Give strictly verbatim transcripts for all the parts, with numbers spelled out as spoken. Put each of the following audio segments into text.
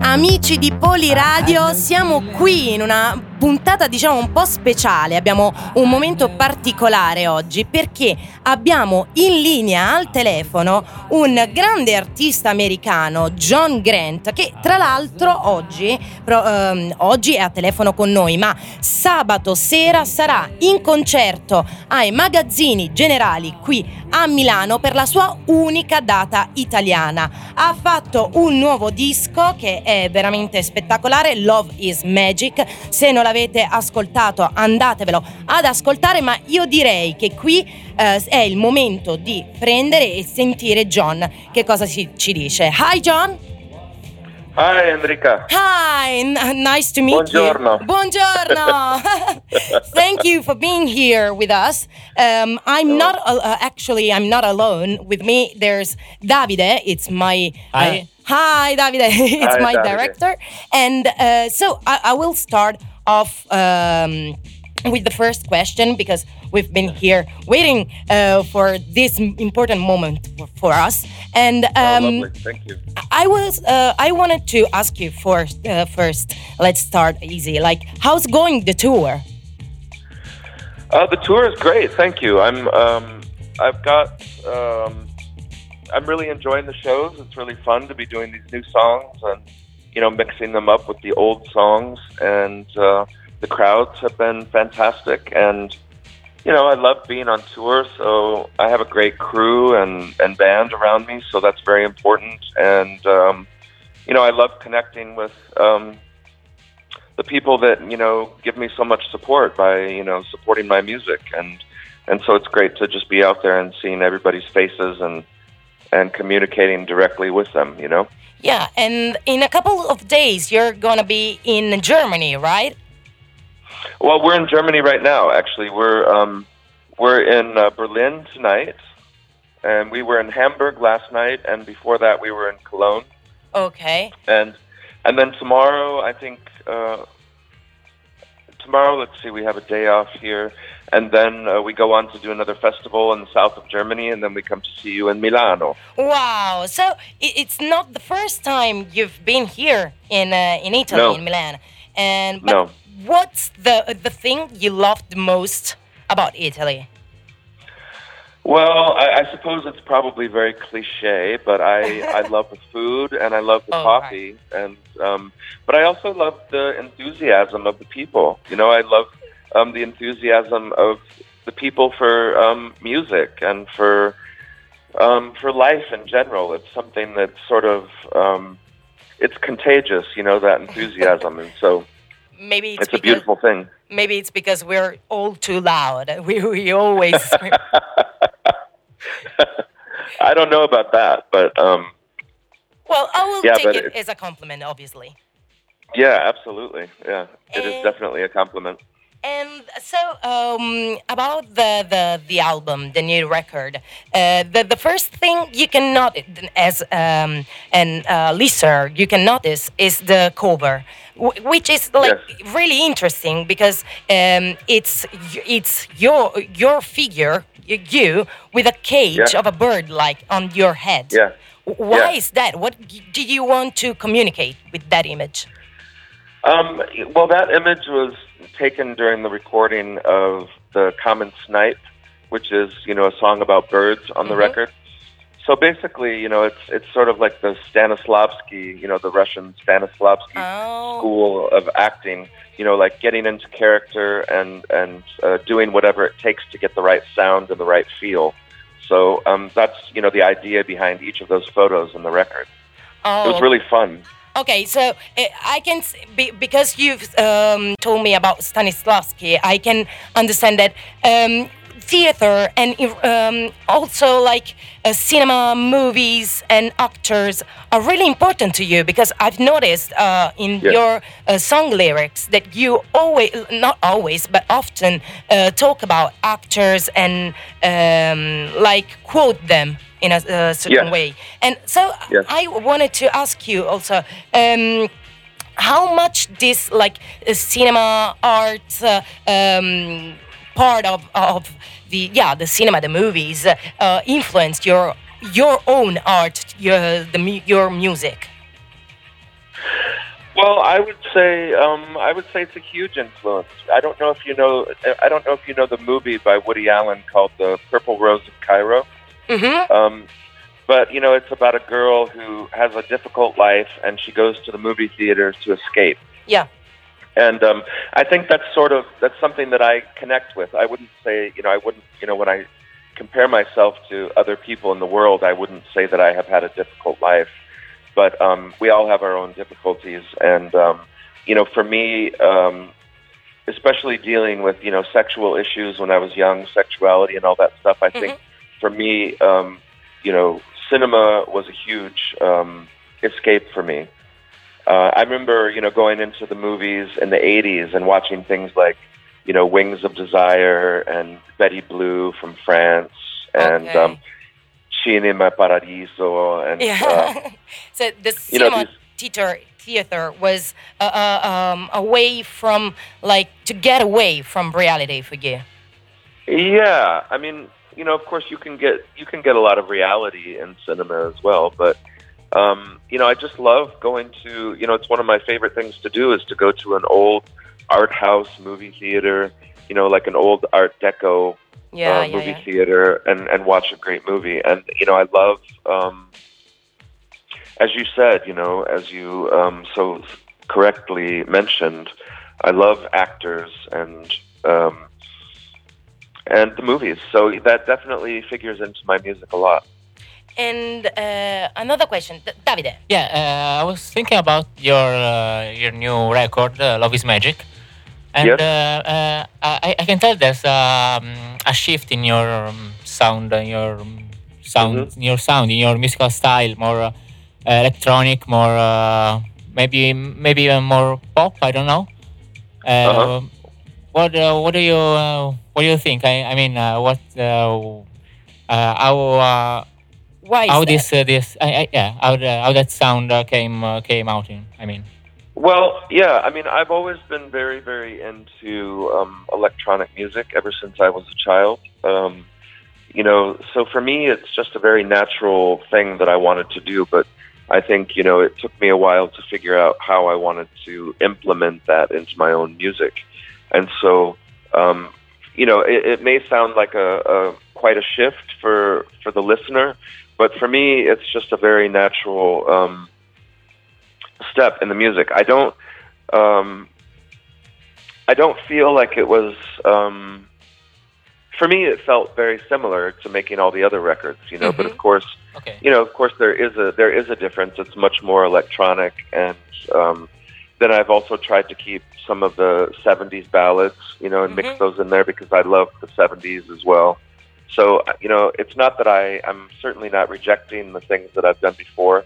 Amici di Poliradio, siamo qui in una puntata diciamo un po' speciale. Abbiamo un momento particolare oggi perché abbiamo in linea al telefono un grande artista americano, John Grant, che tra l'altro oggi, pro, ehm, oggi è a telefono con noi, ma sabato sera sarà in concerto ai Magazzini Generali qui a Milano per la sua unica data italiana. Ha fatto un nuovo disco che è veramente spettacolare, Love is Magic. Se non l'avete ascoltato andatevelo ad ascoltare, ma io direi che qui eh, è il momento di prendere e sentire John che cosa ci, ci dice. Hi John. Hi Enrica. Hi, n- nice to meet Buongiorno. you. Buongiorno. Thank you for being here with us. Um, I'm not uh, actually I'm not alone. With me there's Davide. It's my Hi. Uh, hi Davide. It's Hi, my Davide. director. And uh, so I, I will start off um, with the first question because we've been here waiting uh, for this important moment for, for us. And um, oh, lovely. Thank you. I was uh, I wanted to ask you first. Uh, first, let's start easy. Like, how's going the tour? Uh, the tour is great. Thank you. I'm. Um, I've got. Um, I'm really enjoying the shows. It's really fun to be doing these new songs and, you know, mixing them up with the old songs. And uh, the crowds have been fantastic. And, you know, I love being on tour. So I have a great crew and, and band around me. So that's very important. And, um, you know, I love connecting with um, the people that, you know, give me so much support by, you know, supporting my music. And, and so it's great to just be out there and seeing everybody's faces and, and communicating directly with them, you know? Yeah, and in a couple of days, you're gonna be in Germany, right? Well, we're in Germany right now, actually. We're um, we're in uh, Berlin tonight, and we were in Hamburg last night, and before that we were in Cologne. Okay. And and then tomorrow, I think, uh, tomorrow, let's see, we have a day off here, and then uh, we go on to do another festival in the south of Germany, and then we come to see you in Milano. Wow! So i- it's not the first time you've been here in uh, in Italy, No. in Milan. And but No. what's the the thing you loved the most about Italy? Well, I, I suppose it's probably very cliche, but I, I love the food and I love the Oh, coffee, and um, but I also love the enthusiasm of the people. You know, I love um, the enthusiasm of the people for um, music and for um, for life in general. It's something that's sort of um, it's contagious. You know, that enthusiasm, and so Maybe it's, it's a because, beautiful thing. Maybe it's because we're all too loud. We we always. I don't know about that, but um, Well, I will Yeah, take but it it- as a compliment, obviously. yeah, absolutely. Yeah, it is And- definitely a compliment. And so, um, about the, the, the album, the new record, uh, the the first thing you can notice as um, an uh, listener, you can notice is the cover, w- which is like Yes. really interesting because um, it's y- it's your your figure, y- you with a cage Yeah. of a bird like on your head. Yeah. W- Why Yeah. is that? What d- did you want to communicate with that image? Um, well, that image was taken during the recording of the Common Snipe, which is, you know, a song about birds on the Mhm. record. So basically, you know, it's it's sort of like the Stanislavski, you know, the Russian Stanislavski Oh. school of acting, you know, like getting into character and, and uh, doing whatever it takes to get the right sound and the right feel. So um, that's, you know, the idea behind each of those photos in the record. Oh. It was really fun. Okay, so uh, I can s- be, because you've um, told me about Stanislavski, I can understand that um, theater and um, also like uh, cinema, movies, and actors are really important to you because I've noticed uh, in Yes. your uh, song lyrics that you always, not always, but often uh, talk about actors and um, like quote them in a uh, certain Yes. way. And so Yes. I wanted to ask you also, um, how much this like uh, cinema art uh, um, part of of the yeah the cinema, the movies uh, uh, influenced your your own art, your the mu- your music. Well, I would say um, I would say it's a huge influence. I don't know if you know I don't know if you know the movie by Woody Allen called The Purple Rose of Cairo. Mm-hmm. Um, but you know, it's about a girl who has a difficult life and she goes to the movie theaters to escape. Yeah. And um, I think that's sort of that's something that I connect with. I wouldn't say you know I wouldn't you know when I compare myself to other people in the world, I wouldn't say that I have had a difficult life. But um, we all have our own difficulties, and um, you know, for me, um, especially dealing with you know sexual issues when I was young, sexuality and all that stuff. I Mm-hmm. think for me, um, you know, cinema was a huge um, escape for me. Uh, I remember you know going into the movies in the eighties and watching things like you know Wings of Desire and Betty Blue from France and. Okay. Um, Cinema Paradiso and Yeah. uh, So the you know, cinema these- theater theater was uh, uh, um, a way from like to get away from reality for you. yeah, I mean, you know, of course, you can get you can get a lot of reality in cinema as well, but um, you know, I just love going to. You know, it's one of my favorite things to do is to go to an old art house movie theater. You know, like an old Art Deco Yeah, uh, yeah, movie yeah. theater, and and watch a great movie. And you know, I love. Um, As you said, you know, as you um, so correctly mentioned, I love actors and um, and the movies. So that definitely figures into my music a lot. And uh, another question, D- Davide. Yeah, uh, I was thinking about your uh, your new record, uh, Love Is Magic, and Yes. uh, uh, I, I can tell there's um, a shift in your um, sound, uh, your um, sound, Mhm. in your sound, in your musical style, more uh, electronic, more uh, maybe maybe even more pop. I don't know. Uh, Uh-huh. What uh, what do you uh, what do you think? I I mean, uh, what uh, uh, how uh, Why is how that? this uh, this I, I, yeah how the, how that sound uh, came uh, came out in? I mean. Well, yeah, I mean, I've always been very, very into um, electronic music ever since I was a child. Um, you know, so for me, it's just a very natural thing that I wanted to do, but I think, you know, it took me a while to figure out how I wanted to implement that into my own music. And so, um, you know, it, it may sound like a, a quite a shift for, for the listener, but for me, it's just a very natural um, step in the music. I don't, um, I don't feel like it was. Um, for me, it felt very similar to making all the other records, you know. But of course, Okay. you know, of course, there is a there is a difference. It's much more electronic, and um, then I've also tried to keep some of the seventies ballads, you know, and mix Mhm. those in there because I love the seventies as well. So, you know, it's not that I I'm certainly not rejecting the things that I've done before,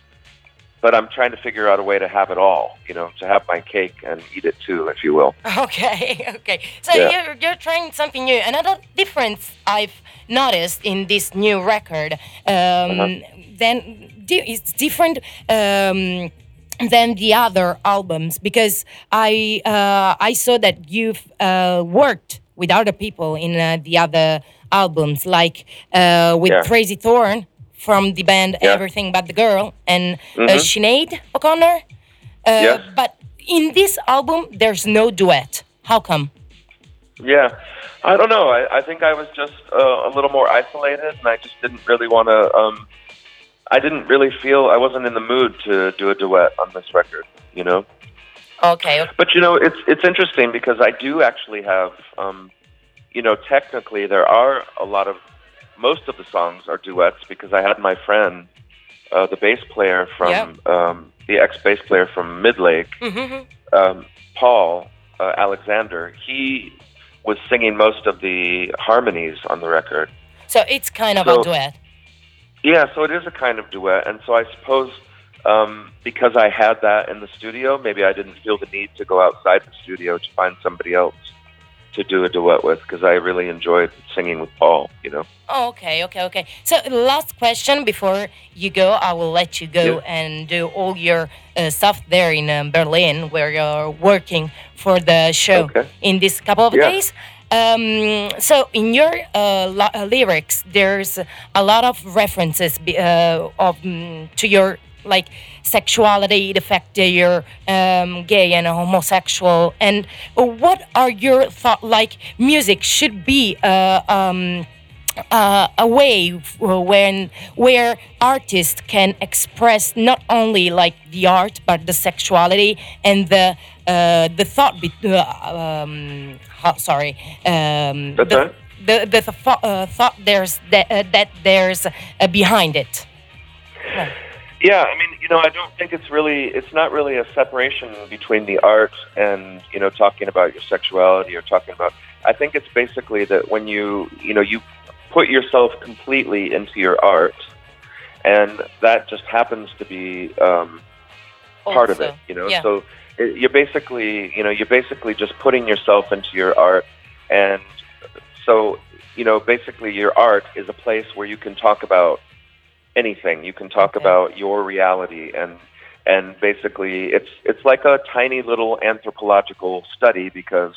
but I'm trying to figure out a way to have it all, you know, to have my cake and eat it too, if you will. Okay, okay. So Yeah. you're you're trying something new. Another difference I've noticed in this new record, um, Uh-huh. then di- it's different um, than the other albums because I uh, I saw that you've uh, worked with other people in uh, the other albums, like uh, with Yeah. Crazy Thorn from the band Yeah. Everything But the Girl and uh, Mhm. Sinead O'Connor. Uh, Yes. But in this album, there's no duet. How come? Yeah, I don't know. I, I think I was just uh, a little more isolated, and I just didn't really want to. Um, I didn't really feel I wasn't in the mood to do a duet on this record, you know. Okay. But you know, it's it's interesting because I do actually have, um, you know, technically there are a lot of most of the songs are duets because I had my friend, uh, the bass player from Yep. um, the ex bass player from Midlake, Mm-hmm. um, Paul uh, Alexander. He was singing most of the harmonies on the record. So it's kind of So- a duet. Yeah, so it is a kind of duet, and so I suppose um, because I had that in the studio, maybe I didn't feel the need to go outside the studio to find somebody else to do a duet with because I really enjoyed singing with Paul, you know. Oh, okay, okay, okay. So last question before you go, I will let you go Yeah. and do all your uh, stuff there in um, Berlin, where you're working for the show Okay. in this couple of Yeah. days. Um, so in your uh, lo- uh, lyrics, there's a lot of references be- uh, of mm, to your like sexuality, the fact that you're um, gay and homosexual, and what are your thoughts? Like music should be uh, um, uh, a way when where artists can express not only like the art but the sexuality and the uh, the thought. Be- uh, um, ho- sorry, um, That's the, right. the the, the thought, uh, thought there's that, uh, that there's uh, behind it. Right. Yeah, I mean, you know, I don't think it's really, it's not really a separation between the art and, you know, talking about your sexuality or talking about, I think it's basically that when you, you know, you put yourself completely into your art, and that just happens to be um, part of Also, it, you know, yeah. so it, you're basically, you know, you're basically just putting yourself into your art, and so, you know, basically your art is a place where you can talk about anything. You can talk Okay. about your reality, and and basically it's it's like a tiny little anthropological study, because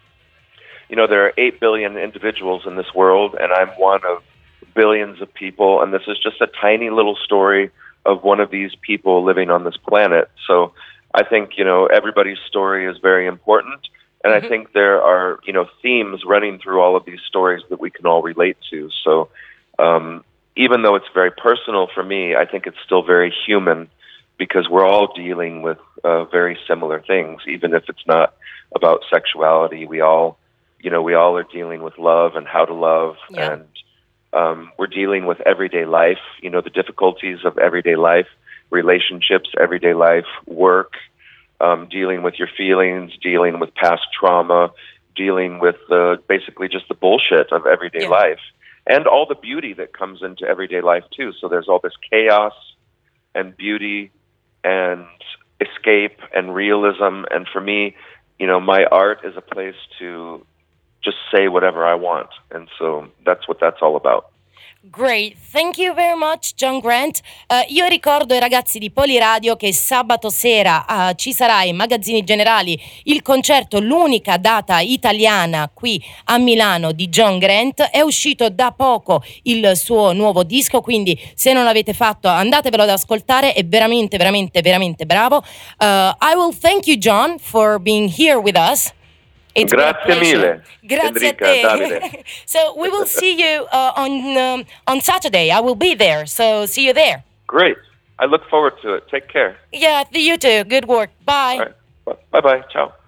you know there are eight billion individuals in this world, and I'm one of billions of people, and this is just a tiny little story of one of these people living on this planet. So I think, you know, everybody's story is very important, and Mhm. I think there are, you know, themes running through all of these stories that we can all relate to. So um even though it's very personal for me, I think it's still very human, because we're all dealing with uh, very similar things, even if it's not about sexuality. We all, you know, we all are dealing with love and how to love, Yeah. and um, we're dealing with everyday life, you know, the difficulties of everyday life, relationships, everyday life, work, um, dealing with your feelings, dealing with past trauma, dealing with uh, basically just the bullshit of everyday Yeah. life. And all the beauty that comes into everyday life, too. So there's all this chaos and beauty and escape and realism. And for me, you know, my art is a place to just say whatever I want. And so that's what that's all about. Great, thank you very much John Grant. Eh, io ricordo ai ragazzi di Poliradio che sabato sera eh, ci sarà ai Magazzini Generali il concerto, l'unica data italiana qui a Milano di John Grant. È uscito da poco il suo nuovo disco, quindi se non l'avete fatto andatevelo ad ascoltare, è veramente veramente veramente bravo. Uh, I will thank you John for being here with us. It's been a Grazie pleasure. mille, Grazie Enrica, a te. Davide. So we will see you uh, on um, on Saturday. I will be there. So see you there. Great. I look forward to it. Take care. Yeah, you too. Good work. Bye. All right. Bye-bye. Ciao.